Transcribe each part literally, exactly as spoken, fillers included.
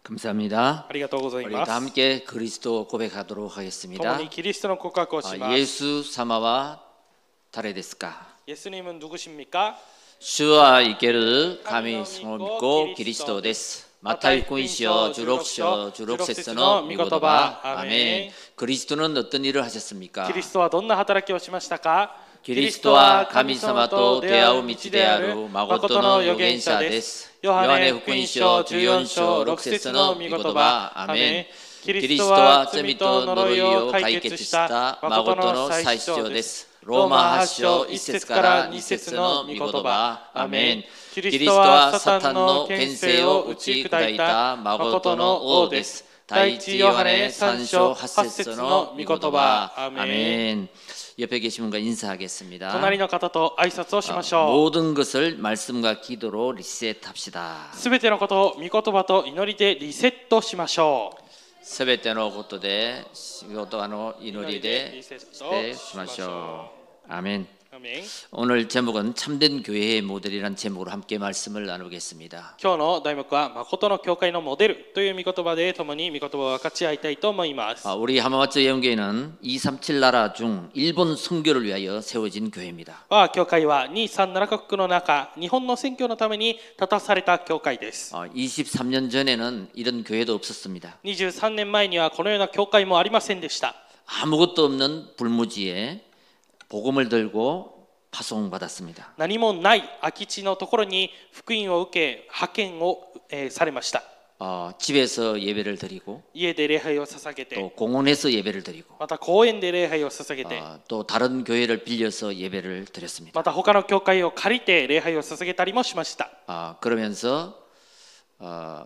감사합니다. ありがとうござい 우리 ま 다 す。 함께 그리스도 고백하도록 共 하겠습니다. にキリストの告白をし 아, ます。 예수 사마와 다레데스까? 예수님은 누구십니까? 주와 이케르 감히 성을 믿고 그리스도 데스. 마타이 군시어 주록시어 주록세스너 미고도바 아멘. 그리스도는 어떤 일을 하셨습니까? キリストはどんな働きをしましたか？ 그리스도와神様と出会う道である誠の預言者です。ヨハネ福音書じゅうよん章ろく節の御言葉アメン。キリストは罪と呪いを解決した誠の最主張です。ローマはち章いち節からに節の御言葉アメン。キリストはサタンの権勢を打ち砕いた誠の王です。第一ヨハネさん章はち節の御言葉アメン。 옆에 계신 분과 인사하겠습니다. 隣の方と挨拶をしましょう。 모든 것을 말씀과 기도로 리셋합시다. すべてのことを御言葉と祈りでリセットしましょう。 すべてのことで仕事の祈りでリセットしましょう。アメン。 오늘 제목은 참된 교회의 모델이라는 제목으로 함께 말씀을 나누겠습니다. 今日の題目は誠の教会のモデルという御言葉で共に御言葉を分かち合いたいと思います。 우리 하마마츠 예언교회는 이백삼십칠 나라 중 일본 선교를 위하여 세워진 교회입니다. 我が教会はにひゃくさんじゅうななカ国の中、日本の宣教のために立たされた教会です。 이십삼 년 전에는 이런 교회도 없었습니다. にじゅうさんねんまえにはこのような教会もありませんでした。 아무것도 없는 불무지에 복음을 들고 파송받았습니다. 何もない空き地のところに福音を受け派遣を、えー、されました。 어, 집에서 예배를 드리고 家で礼拝を捧げて 또 공원에서 예배를 드리고 また公園で礼拝を捧げて 어, 또 다른 교회를 빌려서 예배를 드렸습니다. また他の教会を借りて礼拝を捧げたりもしました。 어, 그러면서 어,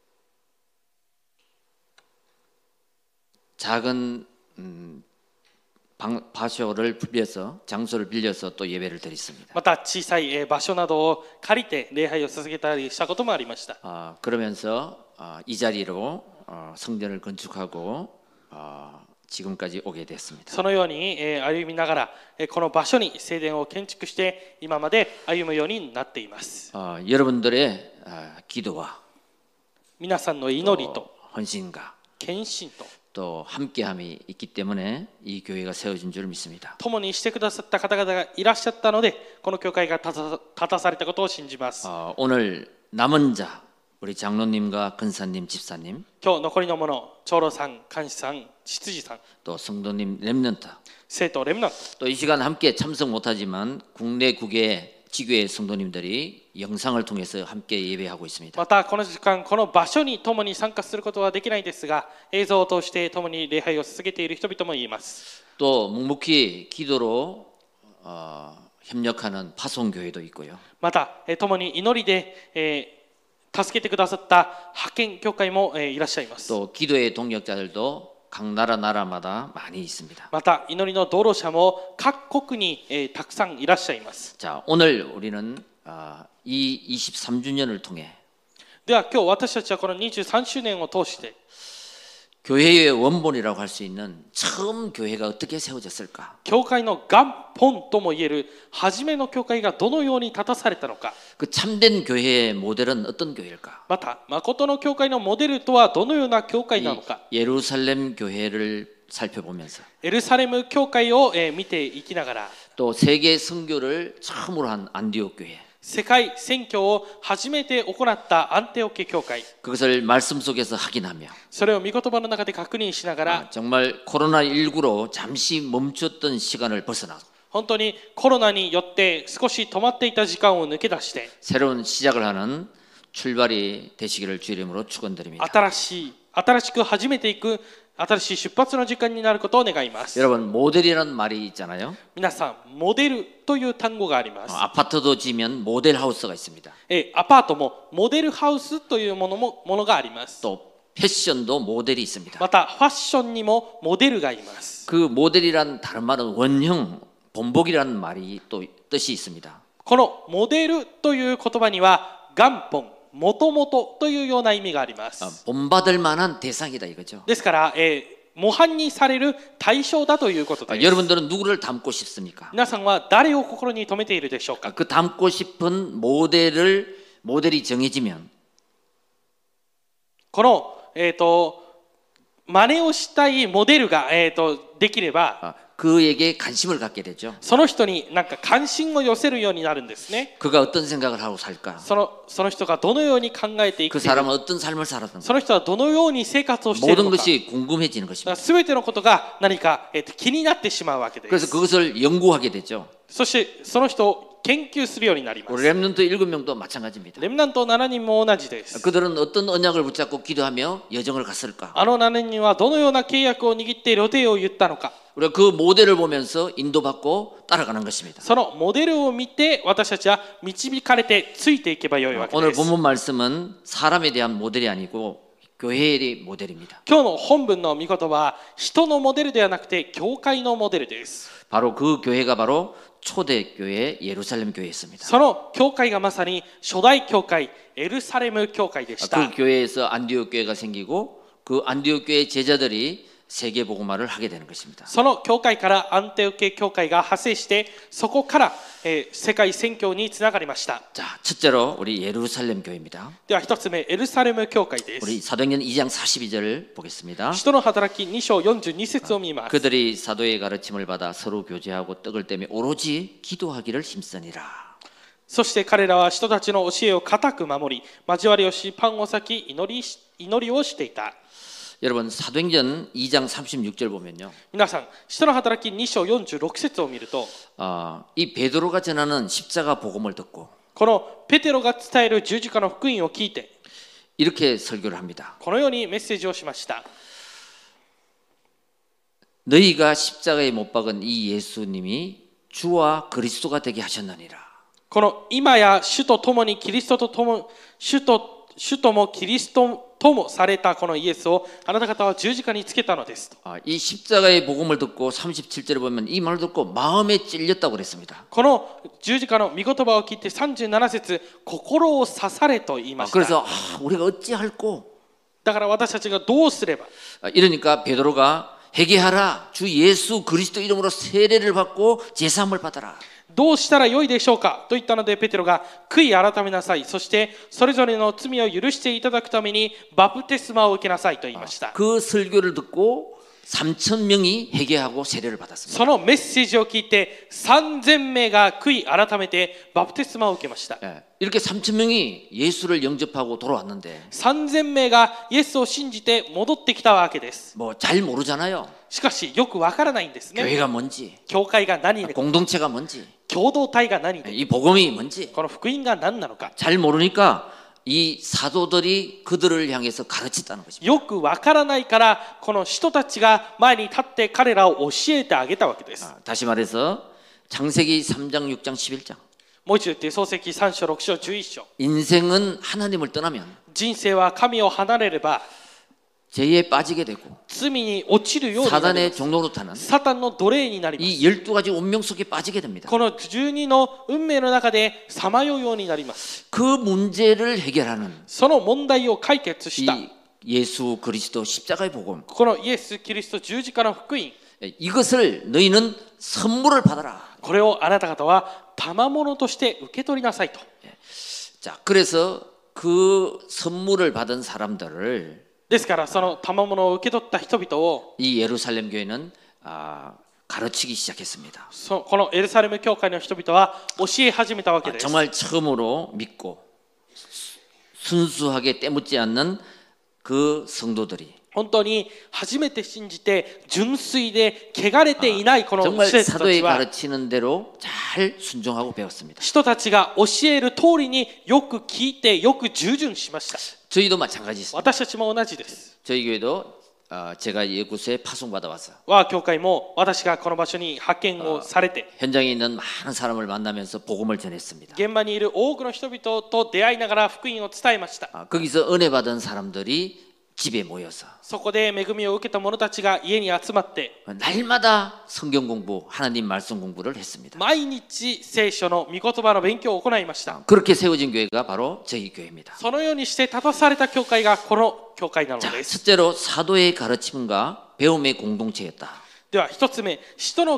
작은 음, 방, 바쇼를 빌려서 장소를 빌려서 또 예배를 드렸습니다. また小さい場所などを借りて礼拝を捧げたりしたこともありました。 어, 그러면서 어, 이 자리로 어, 성전을 건축하고 어, 지금까지 오게 됐습니다. そのように歩みながらこの場所に聖殿を建築して今まで歩むようになっています。 어, 여러분들의 어, 기도와 皆さんの祈りと 헌신과 献身と 또 함께함이 있기 때문에 이 교회가 세워진 줄 믿습니다. 共にしてくださった方々がいらっしゃったのでこの教会が立たされたことを信じます。 어, 오늘 남은 자 우리 장로님과 근사님 집사님 今日残りのもの長老さん、監視さん、執事さん 또 성도님 렘넌트 生徒レムナント 또 이 시간 함께 참석 못하지만 국내 국외 지교회 성도님들이 영상을 통해서 함께 예배하고 있습니다. またこの時間この場所に共に参加することはできないですが映像を通して共に礼拝を捧げている人々もいます。 또 묵묵히 기도로 어, 협력하는 파송교회도 있고요. また共に祈りで、えー、助けてくださった派遣教会も、えー、いらっしゃいます。 또 기도의 동력자들도 각 나라 나라마다 많이 있습니다. また祈りの道路者も各国に、えー、たくさんいらっしゃいます。 자, 오늘 우리는 어, 이 이십삼 주년을 통해 では今日私たちはこのにじゅうさん周年を通して 교회의 원본이라고 할 수 있는 처음 교회가 어떻게 세워졌을까? 教会の元本ともいえる初めの教会がどのように立たされたのか。 그 참된 교회의 모델은 어떤 교회일까? また誠の教会のモデルとはどのような教会なのか。 예루살렘 교회를 살펴보면서 エルサレム教会を見ていきながら 또 세계 선교를 처음으로 한 안디옥 교회 世界宣教を初めて行ったアンテオケ教会 그것을 말씀 속에서 확인하며 それを御言葉の中で確認しながら 아, 정말 코로나십구로 잠시 멈췄던 시간을 벗어나 本当にコロナによって少し止まっていた時間を抜け出して 새로운 시작을 하는 출발이 되시기를 주의 이름으로 축원드립니다. 新しい新しく始めていく新しい出発の時間になることを願います。 여러분 모델이라는 말이 있잖아요. 皆さんモデルという単語があります。 어, 아파트도 지면 모델 하우스가 있습니다. えアパートもモデルハウスというものもものがあります。 또 패션도 모델이 있습니다. またファッションにもモデルがいます。 그 모델이란 다른 말은 원형, 본복이라는 말이 또 뜻이 있습니다. このモデルという言葉には元本、もともとというような意味があります。 어, 본받을 만한 대상이다 이거죠. ですから、えー模範にされる対象だということです。 여러분들은 누구를 닮고 싶습니까? 皆さんは誰を心に留めているでしょうか。 그 닮고 싶은 모델을 모델이 정해지면 この、えー、と真似をしたいモデルが、えー、とできれば 아, 그에게 관심을 갖게 되죠. その人になんか関心を寄せるようになるんですね。 그가 어떤 생각을 하고 살까? その、その人がどのように考えていく 그 か、 사람은 어떤 삶을 살았던가? その人はどのように生活をしている 모든 のか、 것이 궁금해지는 것입니다. すべてのことが何か、えー、と気になってしまうわけで 그래서 す。 그것을 연구하게 되죠. そしてその人を研究するようになりま 우리 す。 렘넌트 일곱 명도 마찬가지입니다. レムナントななにんも同じです。 그들은 어떤 언약을 붙잡고 기도하며 여정을 갔을까? あのななにんはどのような契約を握って予定を言ったのか、 우리가 그 모델을 보면서 인도받고 따라가는 것입니다. そのモデルを見て私たちは導かれてついていけばよいわけ 오늘 です。 본문 말씀은 사람에 대한 모델이 아니고 교회의 모델입니다. 今日の本文の御言葉は人のモデルではなくて教会のモデルです。 바로 그 교회가 바로 초대교회 예루살렘 교회였습니다. その教会がまさに初代教会エルサレム教会でした。 그 교회에서 안디옥 교회가 생기고 그 안디옥 교회 제자들이 세계 복음화를 하게 되는 것입니다. その教会からアンテオケ教会が派生してそこから、えー、世界宣教につながりました。 자, 첫째로 우리 예루살렘 교회입니다. では一つ目エルサレム教会です。 우리 사도행전 이 장 사십이 절을 보겠습니다. 使徒の働きに章よんじゅうに節を見ます。 그들이 사도의 가르침을 받아 서로 교제하고 떡을 떼며 오로지 기도하기를 힘쓰니라. そして彼らは人たちの教えを固く守り交わりをしパンを裂き祈りし祈りをしていた。 여러분 사도행전 이 장 삼십육 절 보면요. 皆さん使徒の働きに章よんじゅうろく節を見ると 어, 이 베드로가 전하는 십자가 복음을 듣고 このペテロが伝える十字架の福音を聞いて 이렇게 설교를 합니다. このようにメッセージをしました。 너희가 십자가에 못 박은 이 예수님이 주와 그리스도가 되게 하셨느니라. この今や主と共にキリストと共主と主ともキリストともされたこのイエスをあなた方は十字架につけたのですと。 아, 이 십자가의 복음을 듣고 삼십칠 절에 보면 이 말을 듣고 마음에 찔렸다고 그랬습니다. この十字架の御言葉を聞いてさんじゅうなな節心を刺されと言いま 아, した。 그래서 아, 우리가 어찌할꼬? だから私たちがどうすれば 아, 이러니까 베드로가 회개하라. 주 예수 그리스도 이름으로 세례를 받고 제사함을 받아라. どうしたらよいでしょうかと言ったのでペテロが悔い改めなさい。そしてそれぞれの罪を許していただくためにバプテスマを受けなさいと言いました。 그 설교를 듣고 삼천 명이 회개하고 세례를 받았습니다. そのメッセージを聞いてさんぜん名が悔い改めてバプテスマを受けました。 예, 이렇게 삼천 명이 예수를 영접하고 돌아왔는데 さんぜん名がイエスを信じて戻ってきたわけです。 뭐 잘 모르잖아요. しかしよくわからないんですね。 교회가 뭔지, 教会が何で、 공동체가 뭔지, 共同体が何で、 이 복음이 뭔지 この福音が何なのか 잘 모르니까 이 사도들이 그들을 향해서 가르쳤다는 것입니다. よくわからないからこの人たちが前に立って彼らを教えてあげたわけです。 아, 다시 말해서 창세기 삼 장, 육 장, 십일 장. もう一度言って創世記さん章ろく章じゅういち章 인생은 하나님을 떠나면 人生は神を離れれば 죄에 빠지게 되고 罪に落ちるようになりま 사단의 す。 종로로 타는 サタンの奴隷になります。 이 열두 가지 운명 속에 빠지게 됩니다. このじゅうにの運命の中でさまようようになります。 그 문제를 해결하는 その問題を解決した 이 예수 그리스도 십자가의 복음 このイエス・キリスト十字架の福音 이것을 너희는 선물을 받아라. これをあなた方は賜物として受け取りなさいと。 자, 그래서 그 선물을 받은 사람들을 ですからその賜物を受け取った人々を 이 예루살렘 교회는 아, 가르치기 시작했습니다. そこのエルサレム教会の人々は教え始めたわけ 아, です。 정말 처음으로 믿고 순수하게 때묻지 않는 그 성도들이 本当に初めて信じて純粋で汚れていないこの 정말 人たち 사도의 は 가르치는 대로 잘 순종하고 배웠습니다. 人たちが教える通りによく聞いてよく従順しました。 저희도 마찬가지입니다. 私たちも同じです。 저희 교회도 어, 제가 이곳에 파송받아 와서 我が教会も私がこの場所に派遣をされて 현장에 있는 많은 사람을 만나면서 복음을 전했습니다. 現場にいる多くの人々と出会いながら福音を伝えました。 아, 거기서 은혜 받은 사람들이 집에 모여서 そこで恵みを受けた者たちが家に集まって 날마다 성경 공부, 하나님 말씀 공부를 했습니다. 毎日聖書の御言葉の勉強を行いました。 그렇게 세워진 교회가 바로 저희 교회입니다. そのようにして立たされた教会がこの教会なの 자, です。 첫째로 사도의 가르침과 배움의 공동체였다. では一つ目、使徒の教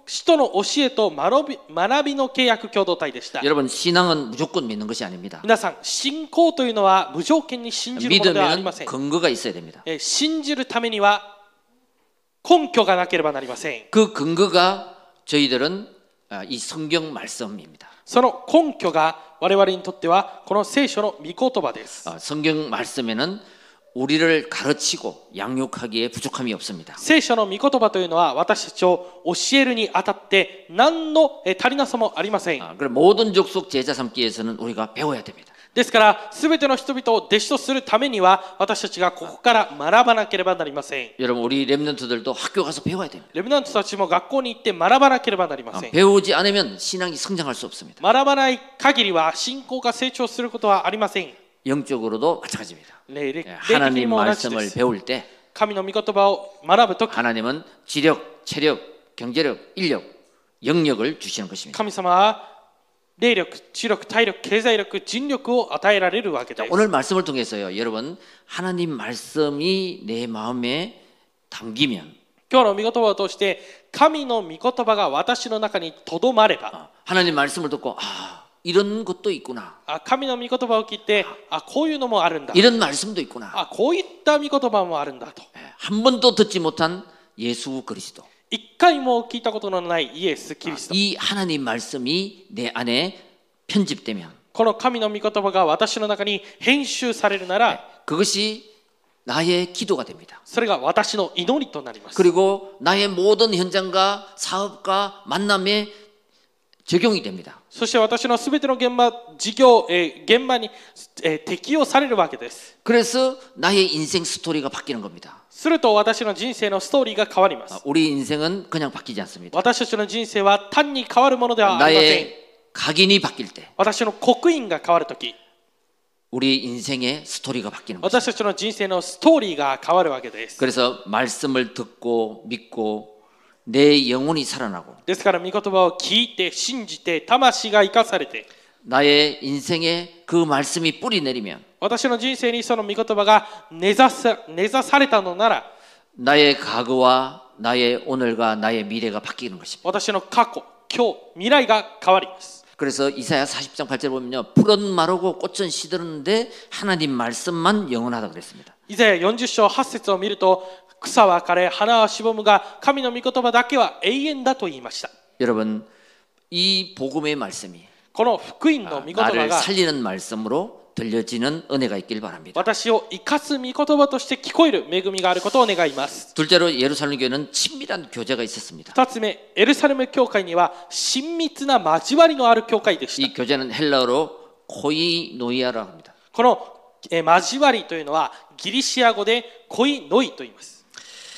使徒の教えと学び、学びの契約共同体でした。 여러분 신앙은 무조건 믿는 것이 아닙니다. 皆さん、信仰というのは無条件に信じるものではありま 믿으면 せん。 근거가 있어야 됩니다. えー信じるためには根拠がなければなりません。 그 근거가 저희들은 아, 이 성경 말씀입니다. その根拠が我々にとってはこの聖書の御言葉です。 아, 성경 말씀에는 우리를 가르치고 양육하기에 부족함이 없습니다. 聖書の御言葉というのは私たちを教えるにあたって何のえー足りなさもありません。 아, 그럼 모든 족속 제자 삼기 위해서는 우리가 배워야 됩니다. ですから全ての人々を弟子とするためには私たちがここから学ばなければなりません。 여러분 우리 렘넌트들도 학교 가서 배워야 됩니다. レブナントたちも学校に行って学ばなければなりま 아, せん。 배우지 않으면 신앙이 성장할 수 없습니다. 学ばない限りは信仰が成長することはありません。 영적으로도 마찬가지입니다. 霊的 예, 霊的に 하나님 も同じで 말씀을 す。 배울 때 神の御言葉を学ぶとき 하나님은 지력, 체력, 경제력, 인력, 영역을 주시는 것입니다. 神様は霊力、知力、体力、経済力、人力を与えられるわけ 자, です。 오늘 말씀을 통해서요, 여러분 하나님 말씀이 내 마음에 담기면 今日の御言葉を通して神の御言葉が私の中にとどまれば、 어, 하나님 말씀을 듣고 아 이런 것도 있구나, あ神の御言葉を聞いて、あこういうのもあるんだ、 이런 말씀도 있구나. あこういった御言葉もあるんだと、 예, 한 번도 듣지 못한 예수 그리스도, 一回も聞いたことのないイエス・キリスト、 이 하나님 말씀이 내 안에 편집되면 この神の御言葉が私の中に編集されるなら、 그것이 나의 기도가 됩니다. それが私の祈りとなります。 그리고 나의 모든 현장과 사업과 만남에 적용이 됩니다. そして私のすべての現場、事業、えー現場に、えー適用されるわけです。 그래서 나의 인생 스토리가 바뀌는 겁니다. すると私の人生のストーリーが変わります。 우리 인생은 그냥 바뀌지 않습니다. 私たちの人生は単に変わるものではありません。 나의 각인이 바뀔 때 私の刻印が変わるとき、 우리 인생의 스토리가 바뀌는 거죠. 私たちの人生のストーリーが変わるわけです。 그래서 말씀을 듣고 믿고 내 영혼이 살아나고 ですから、御言葉を聞いて、信じて、魂が生かされて、 나의 인생에 그 말씀이 뿌리 내리면 私の人生にその御言葉が根ざさ、根ざされたのなら、 나의 과거와 나의 오늘과 나의 미래가 바뀌는 것입니다. 私の過去、今日、未来が変わります。 그래서 이사야 사십 장 팔 절 보면요, 풀은 마르고 꽃은 시드는데 하나님 말씀만 영원하다 그랬습니다. 以前よんじゅう章はち節を見ると、草は枯れ、花はしぼむが、神の御言葉だけは永遠だと言いました。 여러분, 이 복음의 말씀이 この福音の御言葉 나를 が 살리는 말씀으로 들려지는 은혜가 있길 바랍니다. 私を生かす御言葉として聞こえる恵みがあることを願います。 둘째로 예루살렘 교회는 친밀한 교제가 있었습니다. 二つ目、エルサレム教会には親密な交わりのある教会でし 이 た。 교제는 헬라어로 코이노이아라고 합니다. このえー交わりというのはギリシア語でコイノイと言います。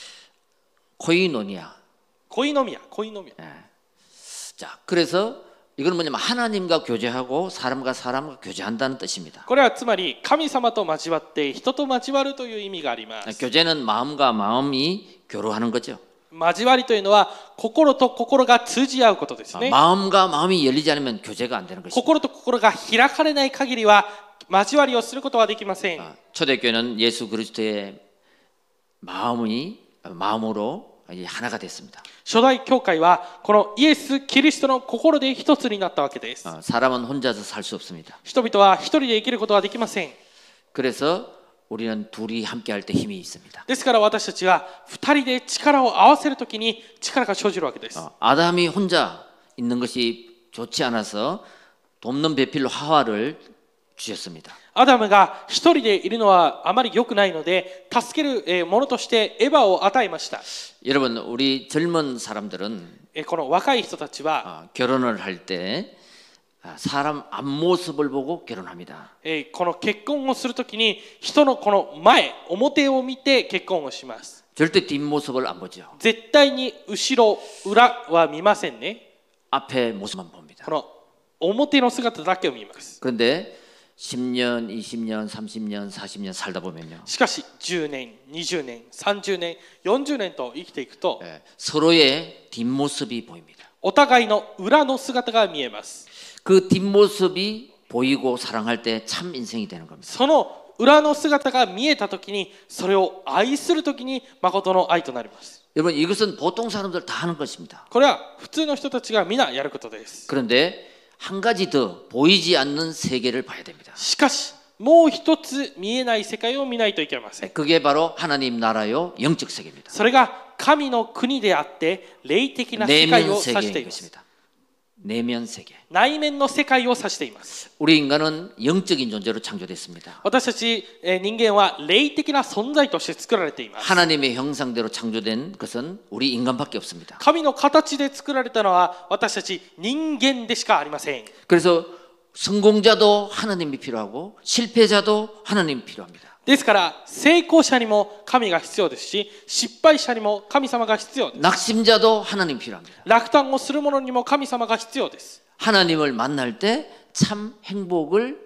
코이노니아. コイノミア、コイノミア。 자, 그래서 이건 뭐냐면 하나님과 교제하고 사람과 사람과 교제한다는 뜻입니다. これはつまり神様と交わって人と交わるという意味があります。 교제는 마음과 마음이 교류하는 거죠. 交わりというのは心と心が通じ合うことですね。 마음과 마음이 열리지 않으면 교제가 안 되는 것입니다. 心と心が開かれない限りは交わりをすることはできません。 초대교회는 예수 그리스도의 마음이 마음으로 하나가 됐습니다. 初代教会はこのイエス・キリストの心で一つになったわけです。 사람은 혼자서 살 수 없습니다. 人々は一人で生きることはできません。 그래서 우리는 둘이 함께 할 때 힘이 있습니다. ですから私たちは二人で力を合わせるときに力が生じるわけです。 아담이 혼자 있는 것이 좋지 않아서 돕는 배필로 하와를 주셨습니다. アダムが一人でいるのはあまり良くないので助けるものとしてエヴァを与えました。 여러분, 우리 젊은 사람들은 この若い人たちは 결혼을 할 때 사람 앞모습을 보고 결혼합니다. この結婚をするときに人のこの前、表を見て結婚をします。 절대 뒷모습을 안 보죠. 絶対に後ろ、裏は見ませんね。 앞에 모습만 봅니다. この表の姿だけを見ます。 그런데 십 년, 이십 년, 삼십 년, 사십 년 살다 보면요. しかしじゅうねん、にじゅうねん、さんじゅうねん、よんじゅうねんと生きていくと 예, 서로의 뒷모습이 보입니다. お互いの裏の姿が見えます。 그 뒷모습이 보이고 사랑할 때 참 인생이 되는 겁니다. その裏の姿が見えたときにそれを愛するときに誠の愛となります。 여러분 이것은 보통 사람들 다 하는 것입니다. これは普通の人たちが皆やることです。 그런데 한 가지 더 보이지 않는 세계를 봐야 됩니다. しかしもう一つ見えない世界を見ないといけません。 그게 바로 하나님 나라요 영적 세계입니다. それが神の国であって霊的な世界を 내면 指してい 세계인 ます。 것입니다. 내면 세계. 内面の世界を指しています。 우리 인간은 영적인 존재로 창조됐습니다. 私たちえー人間は霊的な存在として作られています。 하나님의 형상대로 창조된 것은 우리 인간밖에 없습니다. 神の形で作られたのは私たち人間でしかありません。 그래서 성공자도 하나님이 필요하고 실패자도 하나님이 필요합니다. ですから成功者にも神が必要ですし、失敗者にも神様が必要です。 낙심자도 하나님 필요합니다. 落胆をする者にも神様が必要です。 하나님을 만날 때 참 행복을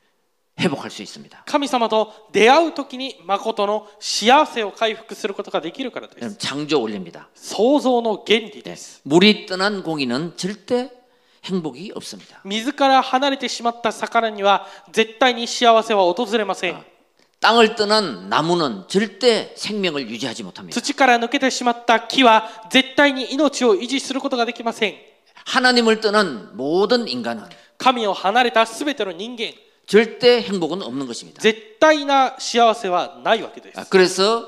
회복할 수 있습니다. 神様と出会うときに誠の幸せを回復することができるからです。 창조 원리입니다. 創造の原理です。 물이 떠난 고기는 절대 행복이 없습니다. 水から離れてしまった魚には絶対に幸せは訪れません。 땅을 떠난 나무는 절대 생명을 유지하지 못합니다. 土から抜けてしまった木は絶対に命を維持することができません。 하나님을 떠난 모든 인간은 神を離れたすべての人間、 절대 행복은 없는 것입니다. 絶対な幸せはないわけです。 그래서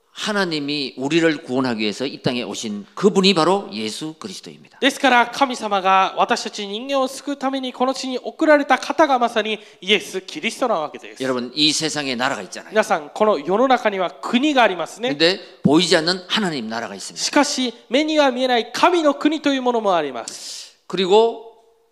하나님이 우리를 구원하기 위해서 이 땅에 오신 그분이 바로 예수 그리스도입니다. ですから神様が私たち人間を救うためにこの地に送られた方がまさにイエス・キリストなわけです。 여러분 이 세상에 나라가 있잖아요. 皆さんこの世の中には国がありますね。 그런데 보이지 않는 하나님 나라가 있습니다. しかし目には見えない神の国というものもあります。 그리고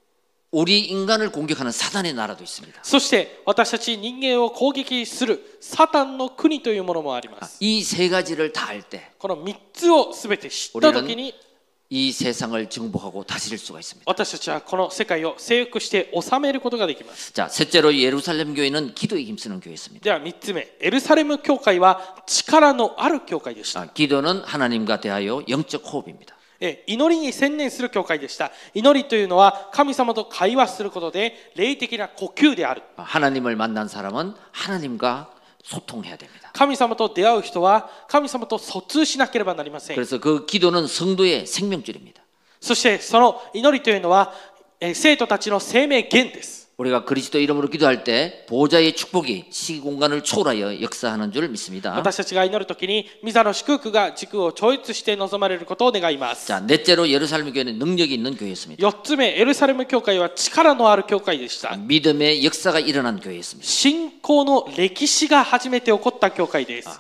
우리 인간을 공격하는 사단의 나라도 있습니다. そして私たち人間を攻撃するサタンの国というものもあります。 이 세 가지를 다 알 때 このみっつをすべて知ったときに 이 세상을 정복하고 다스릴 수가 있습니다. 私たちはこの世界を征服して治めることができます。 자, 셋째로 예루살렘 교회는 기도에 힘쓰는 교회였습니다. ではみっつめ、エルサレム教会は力のある教会でした。 아, 기도는 하나님과 대하여 영적 호흡입니다. え祈りに専念する教会でした。祈りというのは神様と会話することで霊的な呼吸である。 하나님을 만난 사람은 하나님과 소통해야 됩니다. 神様と出会う人は神様と疎通しなければなりません。 그래서 그 기도는 성도의 생명줄입니다. そしてその祈りというのはえ生徒たちの生命源です。 우리가 그리스도 이름으로 기도할 때 보좌의 축복이 시공간을 초월하여 역사하는 줄 믿습니다. 私たちが祈るときに御座の祝福が時空を超越して望まれることを願います。 자, 넷째로 예루살렘 교회는 능력이 있는 교회였습니다. よっつめ、エルサレム教会は力のある教会でした。 믿음의 역사가 일어난 교회였습니다. 信仰の歴史が初めて起こった教会です。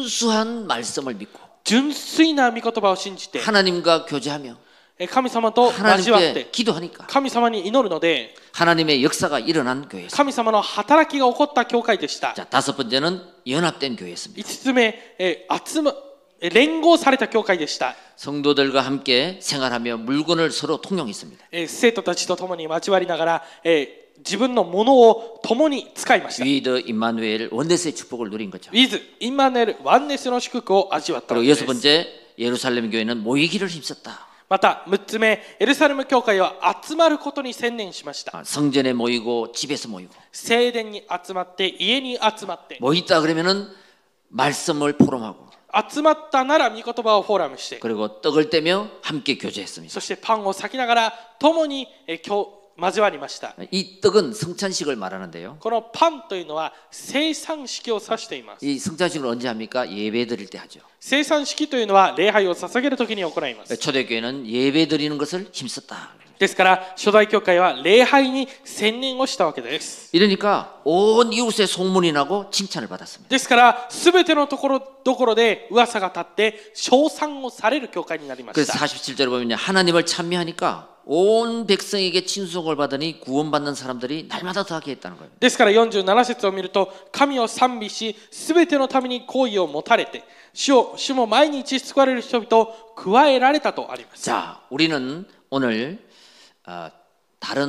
순수한 말씀을 믿고 純粋な御言葉を信じて 하나님과 교제하며 神様と交わって 하나님께 기도하니까 神様に祈るので 하나님의 역사가 일어난 교회였습니다. 神様の働きが起こった教会でした。 자, 다섯 번째는 연합된 교회였습니다. いつつめ、え集ま連合された教会でした。 성도들과 함께 생활하며 물건을 서로 통용했습니다. え生徒たちと共に交わりながら、え自分のものを共に使いました。 위드 임마누엘 원네스의 축복을 누린 거죠. ウィズ・インマヌエル・ワンネスの祝福を味わったわ 그리고 けで 여섯 す。 번째 예루살렘 교회는 모이기를 힘썼다. またむっつめ、エルサレム教会は集まることに専念しました。 아, 성전에 모이고 집에서 모이고 聖殿に集まって家に集まって 모였다 그러면은 말씀을 포럼하고 集まったなら御言葉をフォーラムして 그리고 떡을 떼며 함께 교제했습니다. そしてパンを裂きながら共にえ今日交わりました。 이 떡은 성찬식을 말하는데요. このパンというのは生産式を指しています。 이 성찬식을 언제 합니까? 예배 드릴 때 하죠. 生産式というのは礼拝を捧げるときに行います。 초대교회는 예배 드리는 것을 힘썼다. ですから初代教会は礼拝に専念をしたわけです。 이러니까 온 이웃에 소문이 나고 칭찬을 받았습니다. ですからすべてのところどころで噂が立って称賛をされる教会になりまし 그래서 た。 사십칠 절에 보면 하나님을 찬미하니까 온 백성에게 친송을 받으니 구원받는 사람들이 날마다 더하게 했다는 거예요. ですからよんじゅうなな節を見ると神を賛美しすべてのために好意を持たれて主を主も毎日救われる人々を加えられたとあります。 자, 우리는 오늘 어, 다른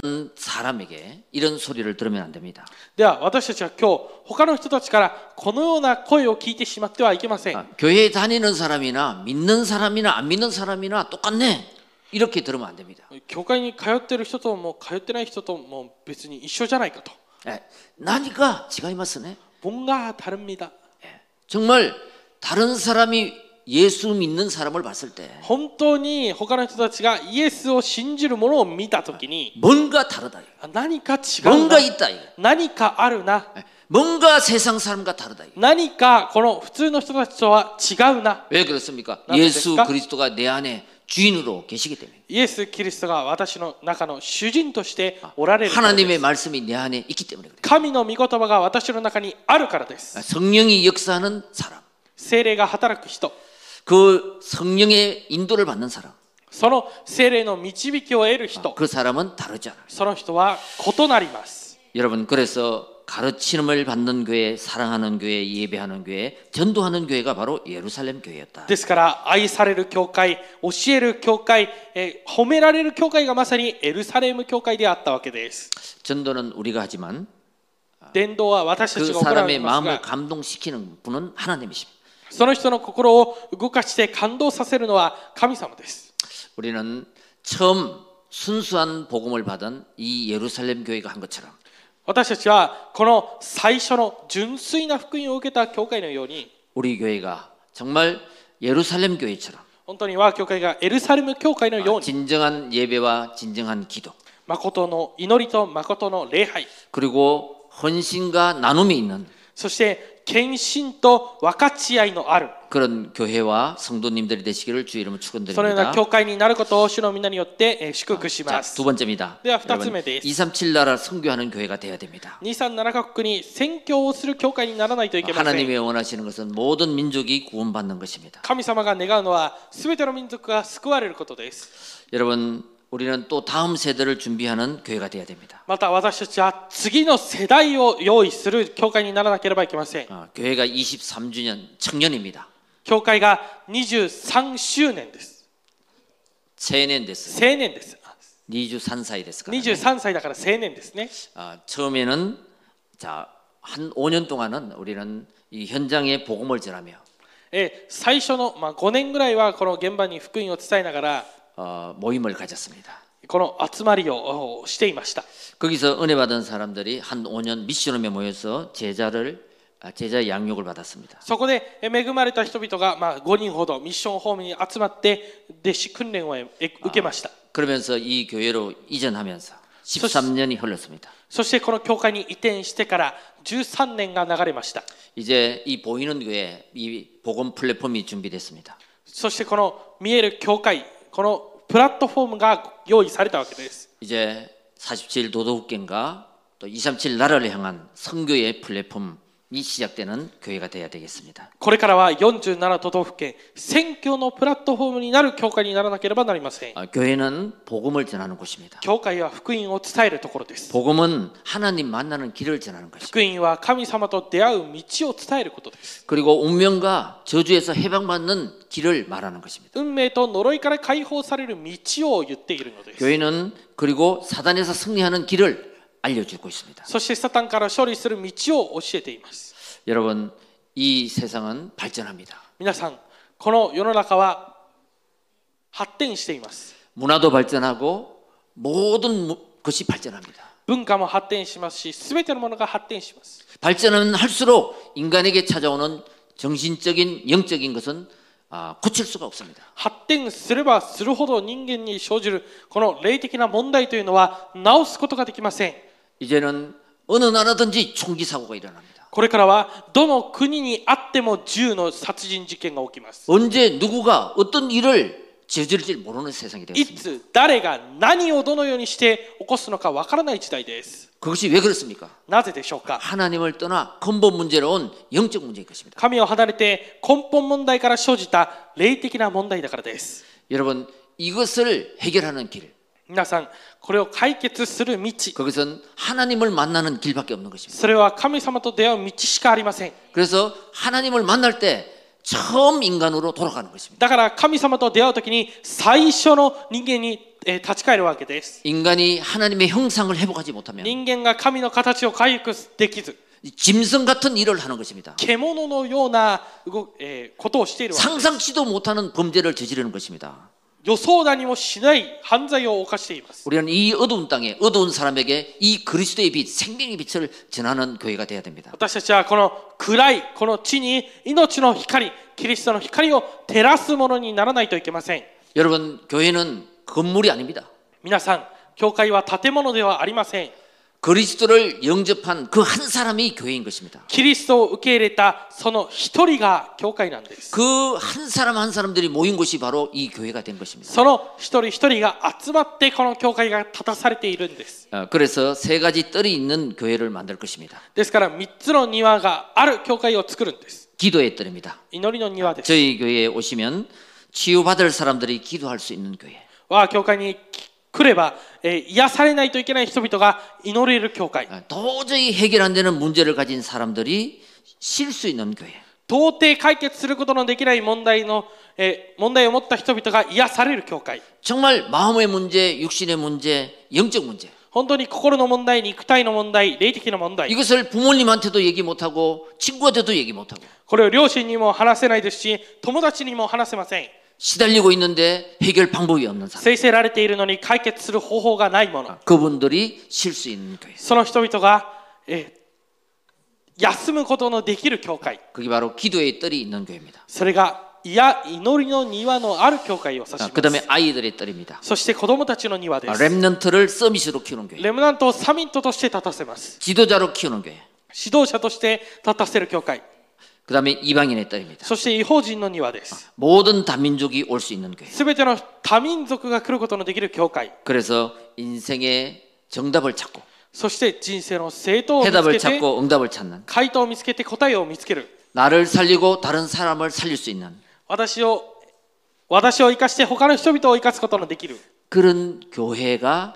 사람에게 이런 소리를 들으면 안 됩니다. では私たちは今日他の人たちからこのような声を聞いてしまってはいけません。 아, 교회에 다니는 사람이나 믿는 사람이나 안 믿는 사람이나 똑같네. 이렇게 들으면 안 됩니다. 教会に通っている人とも通ってない人とも別に一緒じゃないかと。 예, 나니까違いますね. 뭔가 다릅니다. 예, 정말 다른 사람이 예수 믿는 사람을 봤을 때 本当に他の人たちがイエスを信じるものを見たときに 뭔가 다르다. 何か違うな 뭔가 있다. 何かあるな 뭔가 세상 사람과 다르다. 何かこの普通の人たちとは違うな 왜 그렇습니까? 나는 예수 될까? 그리스도가 내 안에 주인으로 계시기 때문에. イエス・キリストが私の中の主人としておられるからで 하나님의 す 말씀이 내 안에 있기 때문에 그래요. 神の御言葉が私の中にあるからです 성령이 역사하는 사람, 聖霊が働く人 그 성령의 인도를 받는 사람, その聖霊の導きを得る人 그 사람은 다르지 않아요. その人は異なります 여러분, 그래서 가르침을 받는 교회, 사랑하는 교회, 예배하는 교회, 전도하는 교회가 바로 예루살렘 교회였다. ですから愛される教会教える教会、えー褒められる教会がまさにエルサレム教会であったわけです 전도는 우리가 하지만 伝道は私た 그 ちが行い 사람의 ます 마음을 が 감동시키는 분은 하나님이십니다. その人の心を動かして感動させるのは神様です 우리는 처음 순수한 복음을 받은 이 예루살렘 교회가 한 것처럼 私たちはこの最初の純粋な福音を受けた教会のように 우리 교회가 정말 예루살렘 교회처럼 本当に我が教会がエルサレム教会のように 진정한 예배와 진정한 기도 誠の祈りと誠の礼拝 그리고 헌신과 나눔이 있는 そして献身と分かち合いのある 그런 교회와 성도님들이 되시기를 주 이름으로 そのような 축원드립니다. 教会になることを主の皆によってえー祝福し 자, ます 두 번째입니다. 네, 두 여러분, 번째です. 이삼칠 나라 선교하는 교회가 되어야 됩니다. にさんななカ国に宣教をする教会にならないといけません 하나님이 원하시는 것은 모든 민족이 구원받는 것입니다. 神様が願うのは全ての民族が救われることです 여러분, 우리는 또 다음 세대를 준비하는 교회가 되어야 됩니다. また私たちは次の世代を用意する教会にならなければいけません 어, 교회가 이십삼 주년 청년입니다. 教会がにじゅうさん周年です青年です. 青年です 이십삼歳ですからね. にじゅうさんさいだから青年ですね 아, 처음에는 자, 한 오 년 동안은 우리는 이 현장에 복음을 전하며 え最初の、まあ、ごねんぐらいはこの現場に福音を伝えながら 어, 모임을 가졌습니다. この集まりをおしていました 거기서 은혜 받은 사람들이 한 오 년 미션홈에 모여서 제자를 아, 제자 양육을 받았습니다. そこでえ恵まれた人々が、まあ、ごにんほどミッションホームに集まって弟子訓練をえ受けました 그러면서 이 교회로 이전하면서 십삼 년이 흘렀습니다. そしてこの教会に移転してからじゅうさんねんが流れました 이제 이 보이는 교회 이 복음 플랫폼이 준비됐습니다. そしてこの見える教会このプラットフォームが用意されたわけです 이제 사십칠 도덕국경과 또 이삼칠 나라를 향한 선교의 플랫폼이 시작되는 교회가 되어야 되겠습니다. これからはよんじゅうなな都道府県宣教のプラットフォームになる教会にならなければなりません 아, 교회는 복음을 전하는 곳입니다. 教会は福音を伝えるところです 복음은 하나님 만나는 길을 전하는 것입니다. 福音は神様と出会う道を伝えることです 그리고 운명과 저주에서 해방받는 길을 말하는 것입니다. 運命と呪いから解放される道を言っているのです 교회는 그리고 사단에서 승리하는 길을 알려주고 있습니다. そしてサタンから勝利する道を教えています 여러분, 이 세상은 발전합니다. 皆さんこの世の中は発展しています 문화도 발전하고 모든 것이 발전합니다. 文化も発展しますし全てのものが発展します 발전은 할수록 인간에게 찾아오는 정신적인 영적인 것은 아, 고칠 수가 없습니다. 発展すればするほど人間に生じるこの霊的な問題というのは直すことができません 이제는 어느 나라든지 총기 사고가 일어납니다. これからはどの国にあっても銃の殺人事件が起きます 언제 누구가 어떤 일을 저지를지 모르는 세상이 い 되었습니다. つ誰が何をどのようにして起こすのかわからない時代です 그것이 왜 그렇습니까? なぜでしょうか 하나님을 떠나 근본 문제로 온 영적 문제일 것입니다. 神を離れて根本問題から生じた霊的な問題だからです 여러분, 이것을 해결하는 길, 皆さんこれを解決する道 그것은 하나님을 만나는 길밖에 없는 것입니다. それは神様と出会う道しかありません 그래서 하나님을 만날 때 처음 인간으로 돌아가는 것입니다. だから神様と出会うときに最初の人間にえー立ち返るわけです 인간이 하나님의 형상을 회복하지 못하면 人間が神の形を回復できず 짐승 같은 일을 하는 것입니다. 獣のような動えーことをしているわけです 상상치도 못하는 범죄를 저지르는 것입니다. 予想だにもしない犯罪を犯しています 우리는 이 어두운 땅에 어두운 사람에게 이 그리스도의 빛, 생명의 빛을 전하는 교회가 되어야 됩니다. 私たちはこの暗いこの地に命の光キリストの光を照らすものにならないといけません。 여러분, 교회는 건물이 아닙니다. 皆さん、教会は建物ではありません。 그리스도를 영접한 그 한 사람이 교회인 것입니다. キリストを受け入れたその一人が教会なんです。 그 한 사람 한 사람들이 모인 곳이 바로 이 교회가 된 것입니다. その一人一人が集まってこの教会が立たされているんです。 그래서 세 가지 뜰이 있는 교회를 만들 것입니다. ですから三つの庭がある教会を作るんです。 기도의 뜰입니다. 祈りの庭です。 저희 교회에 오시면 치유받을 사람들이 기도할 수 있는 교회. 我が教会に来れば、えー、癒されないといけない人々が祈れる教会。 도저히 해결 안 되는 문제를 가진 사람들이 쉴 수 있는 교회. 到底解決することのできない問題の、えー、問題を持った人々が癒される教会。 정말 마음의 문제, 육신의 문제, 영적 문제. 本当に心の問題、肉体の問題、霊的な問題。 이것을 부모님한테도 얘기 못하고 친구한테도 얘기 못하고 これを両親にも話せないですし、友達にも話せません。 시달리고 있는데 해결 방법이 없는 사람. 制せられているのに解決する方法がないもの。 그분들이 쉴 수 있는 교회. その人々が、えー、休むことのできる教会。 그게 바로 기도의 뜰이 있는 교회입니다. それがいや祈りの庭のある教会を指します。 그다음에 아이들의 뜰입니다. そして子供たちの庭です。 렘넌트를 서밋으로 키우는 교회. レムナントをサミットとして立たせます。 지도자로 키우는 교회. 指導者として立たせる教会。 그다음에 이방인의 뜰입니다. そして異邦人の庭です。 모든 다민족이 올 수 있는 교회. すべての多民族が来ることのできる教会。 그래서 인생의 정답을 찾고 そして人生の正当を見つ 해답을 けて 찾고 응답을 찾는 回答を見つけて答えを見つける。 나를 살리고 다른 사람을 살릴 수 있는 私を私を生かして他の人々を生かすことのできる。 그런 교회가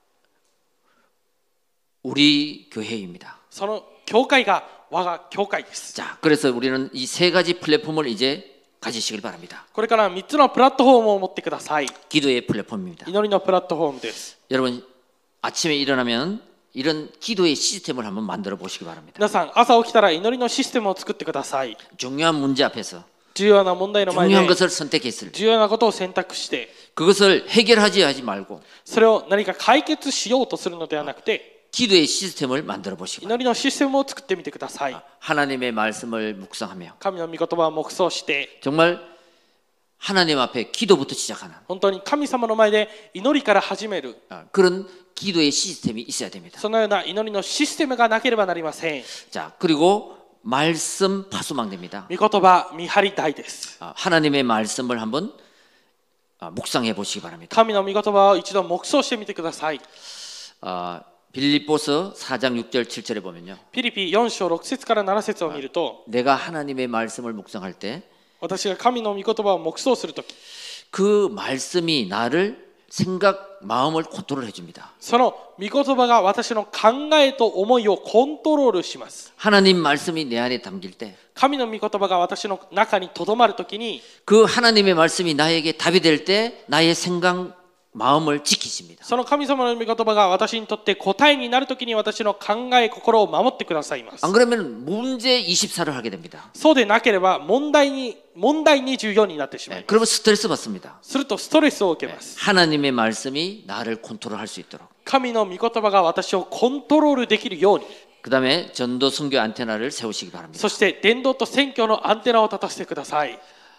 우리 교회입니다. その教会が我が教会です。 자, 그래서 우리는 이 세 가지 플랫폼을 이제 가지시길 바랍니다. これからみっつのプラットフォームを持ってください。 기도의 플랫폼입니다. 祈りのプラットフォームです。 여러분 아침에 일어나면 이런 기도의 시스템을 한번 만들어 보시기 바랍니다. 皆さん朝起きたら祈りのシステムを作ってください。 중요한 문제 앞에서 重要な問題の前で 중요한 것을 선택했을 때 重要なことを選択して 그것을 해결하지 하지 말고 それを何か解決しようとするのではなくて 기도의 시스템을 만들어 보시기 바랍니다. 祈りのシステムを作ってみてください。 하나님의 말씀을 묵상하며 神の御言葉を黙想して 정말 하나님 앞에 기도부터 시작하는 本当に神様の前で祈りから始める 그런 기도의 시스템이 있어야 됩니다. そのような祈りのシステムがなければなりません。 자, 그리고 말씀 파수망대입니다. 御言葉見張り台です。 하나님의 말씀을 한번 묵상해 보시기 바랍니다. 神の御言葉を一度黙想してみてください。 아, 빌립보서 사 장 육 절 칠 절에 보면요. ピリピよん章ろく節からなな節を見ると 내가 하나님의 말씀을 묵상할 때 私が神の御言葉を黙想するとき 그 말씀이 나를 생각, 마음을 컨트롤해 줍니다. その御言葉が私の考えと思いをコントロールします。 하나님 말씀이 내 안에 담길 때 神の御言葉が私の中にとどまるときに 그 하나님의 말씀이 나에게 답이 될 때 나의 생각, 마음을 지키십니다. その神様の御言葉が私にとって答えになるときに私の考え、心を守ってくださいます。 안 그러면 문제 이십사를 하게 됩니다. そうでなければ問題に問題にじゅうよんになってしまいます。 그러면 스트레스 받습니다. するとストレスを受けます。 하나님의 말씀이 나를 컨트롤할 수 있도록. 神の御言葉が私をコントロールできるように。 그 다음에 전도 선교 안테나를 세우시기 바랍니다. そして伝道と宣教のアンテナを立たせてください。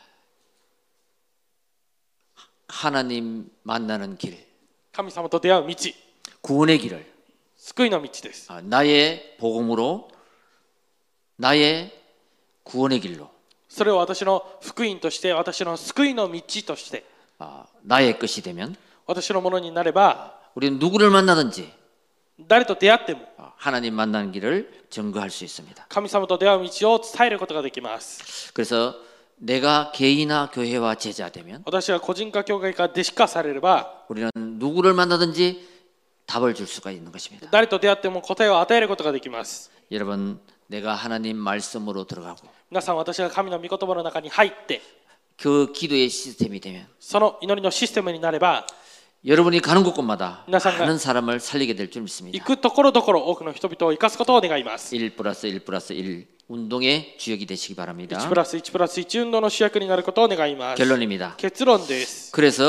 하나님 만나는 길, 神様と出会う道、 구원의 길을 救いの道です。 나의 복음으로, 나의 구원의 길로, それを私の福音として、私の救いの道として、 나의 것이 되면 私のものになれば、 우리는 누구를 만나든지 誰と出会っても 하나님 만나는 길을 증거할 수 있습니다. 神様と出会う道を伝えることができます。 그래서 내가 개인화 교회와 제자 되면 私は個人化教会か弟子化されれば 우리는 누구를 만나든지 답을 줄 수가 있는 것입니다. 誰と出会っても答えを与えることができます。 여러분, 내가 하나님 말씀으로 들어가고 皆さん、私が神の御言葉の中に入って 그 기도의 시스템이 되면 その祈りのシステムになれば 여러분이 가는 곳곳마다 皆さんが 많은 사람을 살리게 될 줄 行 믿습니다. くところどころ多くの人々を生かすことを願います。 일 플러스 일 플러스 일 운동의 주역이 되시기 바랍니다. いちプラスいちプラスいち運動の主役になることを願います。 결론입니다. 結論です。 그래서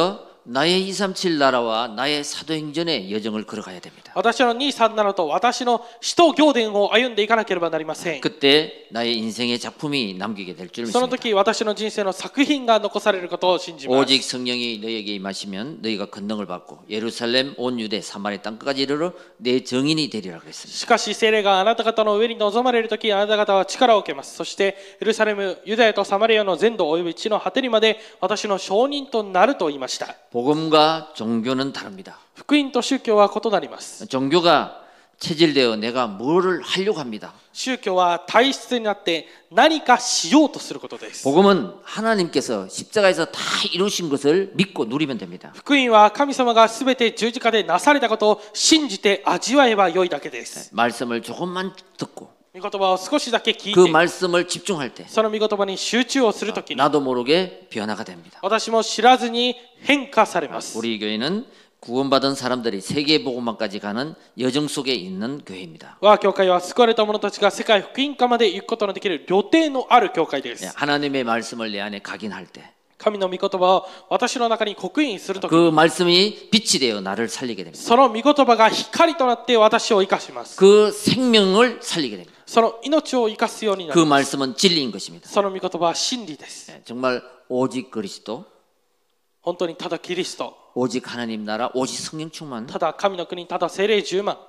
나의 이삼칠 나라와 나의 사도행전의 여정을 걸어가야 됩니다. 私のにさんななと私の使徒行伝を歩んでいかなければなりません。 그때 나의 인생의 작품이 남기게 될 줄 その 믿습니다. 時私の人生の作品が残されることを信じます。 오직 성령이 너에게 임하시면 너희가 권능을 받고 예루살렘 온 유대 사마리아 땅까지 이르러 내 증인이 되리라 그랬습니다. しかし聖霊があなた方の上に臨まれる時、あなた方は力を受けます。そしてエルサレム、ユダヤとサマリアの全土および地の果てにまで私の証人となると言いました。 복음과 종교는 다릅니다. 福音と宗教は異なります。 종교가 체질되어 내가 뭐를 하려고 합니다. 宗教は体質になって何かしようとすることです。 복음은 하나님께서 십자가에서 다 이루신 것을 믿고 누리면 됩니다. 福音は神様がすべて十字架でなされたことを信じて味わえばよいだけです。 말씀을 조금만 듣고 御言葉を少しだけ聞い 그 て、 말씀을 집중할 때 その御言葉に集中をするときに、 나도 모르게 변화가 됩니다. 私も知らずに変化されます。 우리 교회는 구원받은 사람들이 세계 복음화까지 가는 여정 속에 있는 교회입니다. 我が教会は救われた者たちが世界福音化まで行くことのできる旅程のある教会です。 하나님의 말씀을 내 안에 각인할 때 神の御言葉を私の中に刻印するとき、 그 말씀이 빛이 되어 나를 살리게 됩니다. その御言葉が光となって私を生かします。 그 생명을 살리게 됩니다. その命を生かすようにな 그 ります。 말씀은 진리인 것입니다. その御言葉は真理です。 정말 오직 그리스도, 本当にただキリスト、 오직 하나님 나라, 오직 성령 충만. ただ神の国、ただ聖霊十万。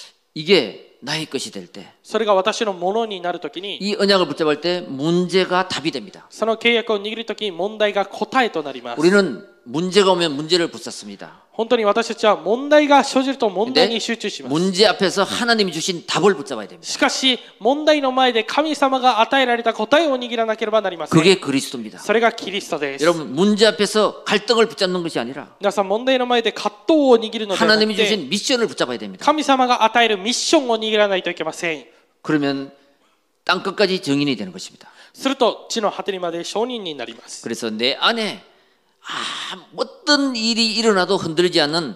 이게 나의 것이 될 때, それが私のものになるときに、 이 언약을 붙잡을 때 문제가 답이 됩니다. その契約を握るときに問題が答えとなります。 우리는 문제가 오면 문제를 붙잡습니다. 本当に私たちは問題が生じると問題に集中します。 문제 앞에서 하나님이 주신 답을 붙잡아야 됩니다. しかし問題の前で神様が与えられた答えを握らなければなりません。 그게 그리스도입니다. それがキリストです。 여러분 문제 앞에서 갈등을 붙잡는 것이 아니라 皆さん問題の前で葛藤を握るのではな 하나님이 くて、 주신 미션을 붙잡아야 됩니다. 神様が与えるミッションを握らないといけません。 그러면 땅 끝까지 증인이 되는 것입니다. すると地の果てにまで証人になります。 그래서 내 안에 아, 어떤 일이 일어나도 흔들리지 않는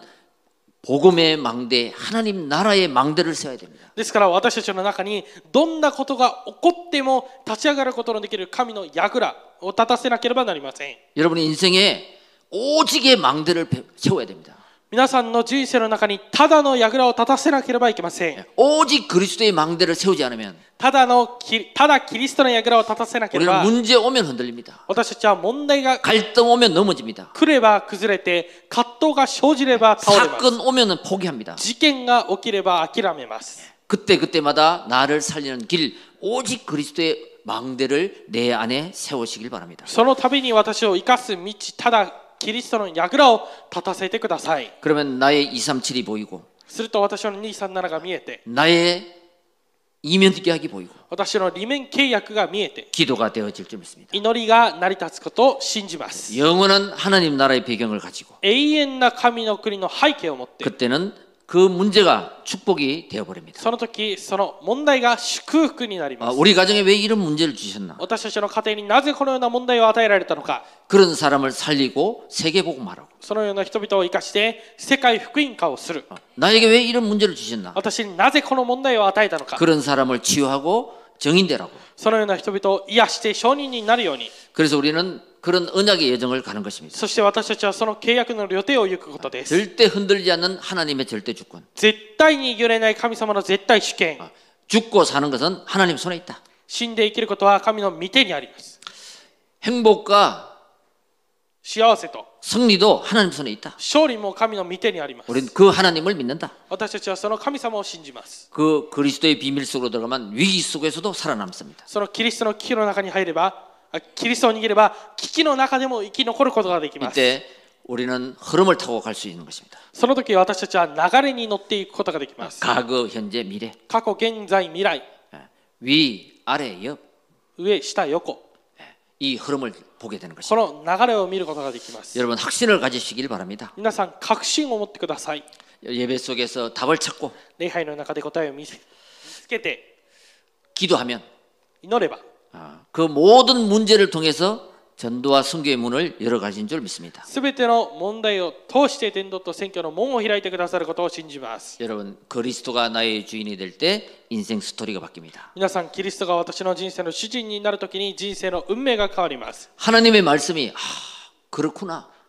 복음의 망대, 하나님 나라의 망대를 세워야 됩니다. ですから私たちの中にどんなことが起こっても立ち上がることのできる神の櫓を立たせなければなりません。 여러분의 인생에 오직의 망대를 세워야 됩니다. 皆さんの人生の中にただの櫓を立たせなければいけません。 오직 그리스도의 망대를 세우지 않으면 ただのただキリストの櫓を立たせなけれ 우리는 ば、 문제 오면 흔들립니다. 私たちは問題が 갈등 오면 넘어집니다. 来れば崩れて、葛藤が生じれば倒れます。 사건 오면 포기합니다. 事件が起きれば諦めます。 그때 그때마다 나를 살리는 길, 오직 그리스도의 망대를 내 안에 세우시길 바랍니다. その度に私を生かす道、ただキリストの櫓を立たせてください。 그러면 나의 이삼칠이 보이고 すると私のにさんななが見えて、 나의 이면 계약이 보이고 私の利面契約が見えて、 기도가 되어질 줄 믿습니다. 祈りが成り立つことを信じます。 영원한 하나님 나라의 배경을 가지고 永遠な神の国の背景を持って、 그때는 그 문제가 축복이 되어버립니다. その時その問題が祝福になりま 아, す。 우리 가정에 왜 이런 문제를 주셨나? 私たちの家庭になぜこのような問題を与えられたのか、 그런 사람을 살리고 세계복음하라고. そのような人々を生かして世界福音化をする。 나에게 왜 이런 문제를 주셨나? 私になぜこの問題を与えたのか、 그런 사람을 치유하고 정인되라고. そのような人々を癒して証人になるように。 그래서 우리는 그런 언약의 여정을 가는 것입니다. そして私たちはその契約の旅程を行くことです。 절대 흔들리지 않는 하나님의 절대 주권. 絶対に揺れない神様の絶対主権。 죽고 사는 것은 하나님 손에 있다. 死んで生きることは神の御手にあります。 행복과 幸せと 승리도 하나님 손에 있다. 勝利も神の御手にあります。 우리는 그 하나님을 믿는다. 私たちはその神様を信じます。 그 그리스도의 비밀 속으로 들어가면 위기 속에서도 살아남습니다. そのキリストの危機の中に入れば、キリストを握れば危機の中でも生き残ることができます。 이때 우리는 흐름을 타고 갈 수 있는 것입니다. その時私たちは流れに乗っていくことができます。 과거, 현재, 미래. 過去、現在、未来、 위, 아래, 옆. 上、下、横、 이 흐름을 보게 되는 こ 것입니다. の流れを見ることができます。 여러분 확신을 가지시길 바랍니다. 皆さん確信を持ってください。 예배 속에서 답을 찾고 礼拝の中で答えを見せ見つけて 기도하면 祈れば、 그 모든 문제를 통해서 전도와 선교의 문을 열어가신 줄 믿습니다. すべての問題を通して伝道と宣教の門を開いてくださることを信じます。 여러분 그리스도가 나의 주인이 될 때 인생 스토리가 바뀝니다. 皆さんキリストが私の人生の主人になるときに人生の運命が変わります。 하나님의 말씀이 아, 그렇구나.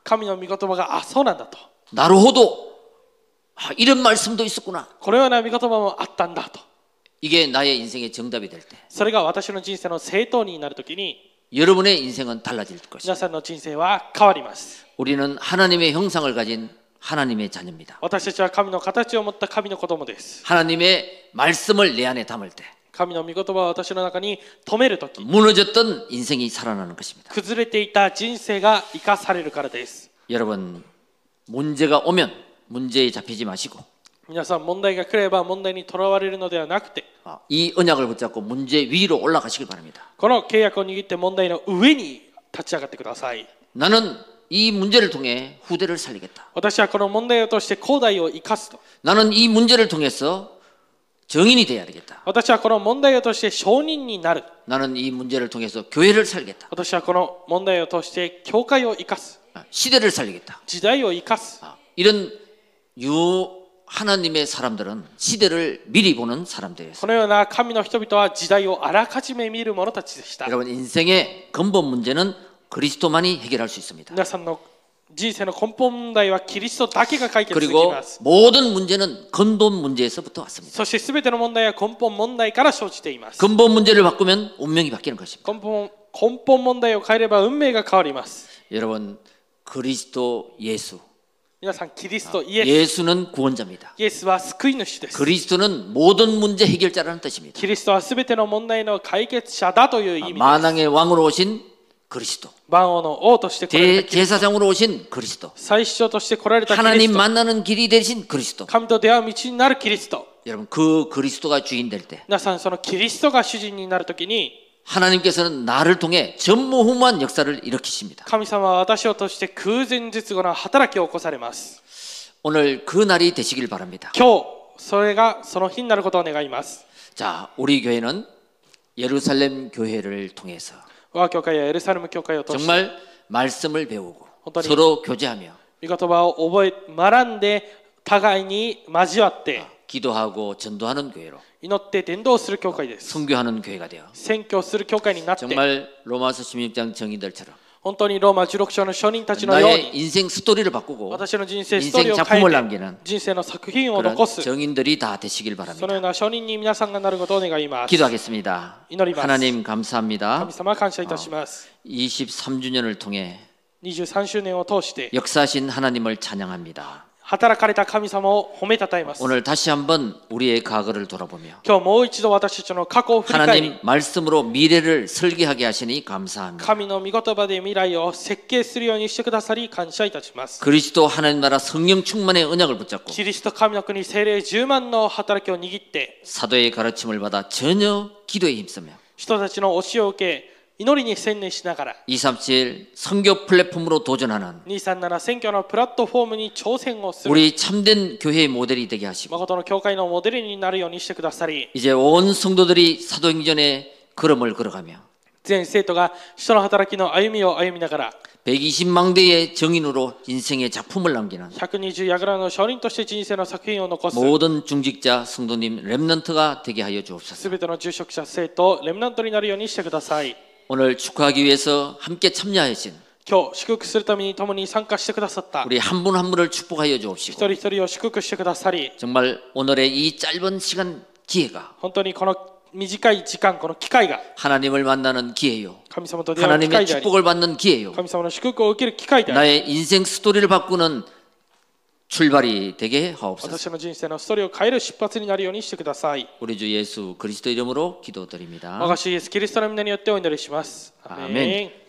神の御言葉があそうなんだと 나루호도 아, 이런 말씀도 있었구나. このような御言葉もあったんだと 이게 나의 인생의 정답이 될 때 それが私の人生の正当になるときに 여러분의 인생은 달라질 것입니다. 皆さんの人生は変わります 우리는 하나님의 형상을 가진 하나님의 자녀입니다. 私たちは神の形を持った神の子供です 하나님의 말씀을 내 안에 담을 때 神の御言葉を私の中に留めるとき 무너졌던 인생이 살아나는 것입니다. 崩れていた人生が生かされるからです 여러분 문제가 오면 문제에 잡히지 마시고 皆さん問題が来れば問題にとらわれるのではなくて 이 언약을 붙잡고 문제 위로 올라가시길 바랍니다. この契約を握って問題の上に立ち上がってください 나는 이 문제를 통해 후대를 살리겠다. 私はこの問題を通して後代を生かすと 나는 이 문제를 통해서 정인이 되어야 되겠다. 私はこの問題を通して証人になる 나는 이 문제를 통해서 교회를 살겠다. 私はこの問題を通して教会を生かす 시대를 살리겠다. 時代を生かす 이런 유 하나님의 사람들은 시대를 미리 보는 사람들이었어요. このような神の人々は時代をあらかじめ見る者たちでした 여러분 인생의 근본 문제는 그리스도만이 해결할 수 있습니다. 皆さんの人生の根本問題はキリストだけが解決でき 그리고 ます 모든 문제는 근본 문제에서부터 왔습니다. そして全ての問題は根本問題から生じています 근본 문제를 바꾸면 운명이 바뀌는 것입니다. 根本根本問題を変えれば運命が変わります 여러분 그리스도 예수 皆さんキリストイエス 예수는 구원자입니다. イエスは救い主です 그리스도는 모든 문제 해결자라는 뜻입니다. キリストは全ての問題の解決者だという意味です 만왕의 왕으로 오신 그리스도 万王の王として来られたキリスト 대제사장으로 오신 그리스도 最初として来られたキリス 하나님 ト 만나는 길이 되신 그리스도 神と出会う道になるキリスト 여러분 그 그리스도가 주인 될 때 皆さんそのキリストが主人になるときに 하나님께서는 나를 통해 전무후무한 역사를 일으키십니다. 神様は私を通して空前絶後の働きを起こされます 오늘 그 날이 되시길 바랍니다. 今日それがその日になることを願います 자, 우리 교회는 예루살렘 교회를 통해서 我が教会やエルサレム教会を通して 정말 말씀을 배우고 어떠니? 서로 교제하며 御言葉を覚え学んで互いに交わって 기도하고 전도하는 교회로 祈って伝道する教会です 선교하는 교회가 되어 宣教する教会になって 정말 로마서 십육 장 정의들처럼 本当にローマじゅうろく章の証人たちのよう 나의 に 인생 스토리를 바꾸고 私の人生ストーリー 인생 を変 작품을 えて 남기는 人生の作品を 그런 残す 정인들이 다 되시길 そのよ 바랍니다. うな証人に皆さんがなることを願います 기도하겠습니다. 이노리마스. 하나님 감사합니다. 神様感謝いたします 이십삼 주년을 통해 にじゅうさん周年を通して 역사하신 하나님을 찬양합니다. 働かれた神様を褒めたたえます 오늘 다시 한번 우리의 과거를 돌아보며 今日もう一度私たちの過去を振り返り 하나님 말씀으로 미래를 설계하게 하시니 감사합니다. 神の御言葉で未来を設計するようにしてくださり感謝いたします 그리스도 하나님 나라 성령 충만의 언약을 붙잡고 キリスト神の国聖霊じゅうまんの働きを握って 사도의 가르침을 받아 전혀 기도에 힘쓰며 人たちの教えを受け祈りに専念しながら 이백삼십칠 선교 플랫폼으로 도전하는 にさんなな選挙のプラットフォームに挑戦をする 우리 참된 교회의 모델이 되게 하시고 誠の教会のモデルになるようにしてくださり 이제 온 성도들이 사도행전의 걸음을 걸어가며 全生徒が人の働きの歩みを歩みながら 백이십만 대의 정인으로 인생의 작품을 남기는 ひゃくにじゅうやぐらの証人として人生の作品を残す 모든 중직자 성도님 렘넌트가 되게 하여 주옵소서. すべての住職者生徒レムナントになるようにしてください 오늘 축하하기 위해서 함께 참여하신 今日祝福するために共に参加してくださった 우리 한 분 한 분을 축복하여 一 주옵시고 人一人を祝福してくださり 정말 오늘의 이 짧은 시간 기회가 本当にこの短い時間この機会が 하나님을 만나는 기회요. 神様と出会う機 하나님의 会であり 축복을 받는 기회요. 神様の祝福を受ける機会であり 나의 인생 스토리를 바꾸는 출발이 되게 하옵소서. 私の人生のストーリーを変える出発になるようにしてください 우리 주 예수 그리스도 이름으로 기도드립니다. 我が主イエスキリストの皆によってお祈りしますアーメン 아멘.